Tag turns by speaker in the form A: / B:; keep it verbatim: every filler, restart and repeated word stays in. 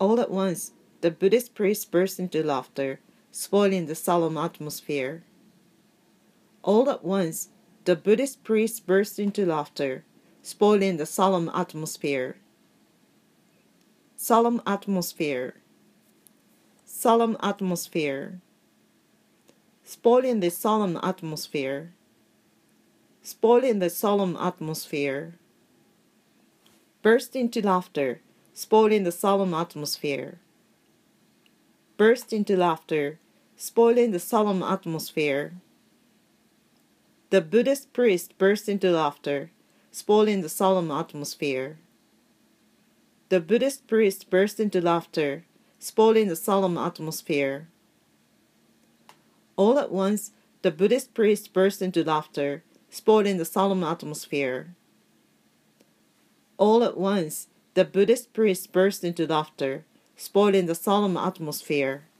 A: All at once, the Buddhist priest burst into laughter, spoiling the solemn atmosphere. All at once, the Buddhist priest burst into laughter, spoiling the solemn atmosphere. Solemn atmosphere. Solemn atmosphere. Spoiling the solemn atmosphere. Spoiling the solemn atmosphere. Burst into laughter, spoiling the solemn atmosphere. Burst into laughter, spoiling the solemn atmosphere. The Buddhist priest burst into laughter, spoiling the solemn atmosphere. The Buddhist priest burst into laughter, spoiling the solemn atmosphere. All at once, the Buddhist priest burst into laughter, spoiling the solemn atmosphere. All at once, the Buddhist priest burst into laughter, spoiling the solemn atmosphere.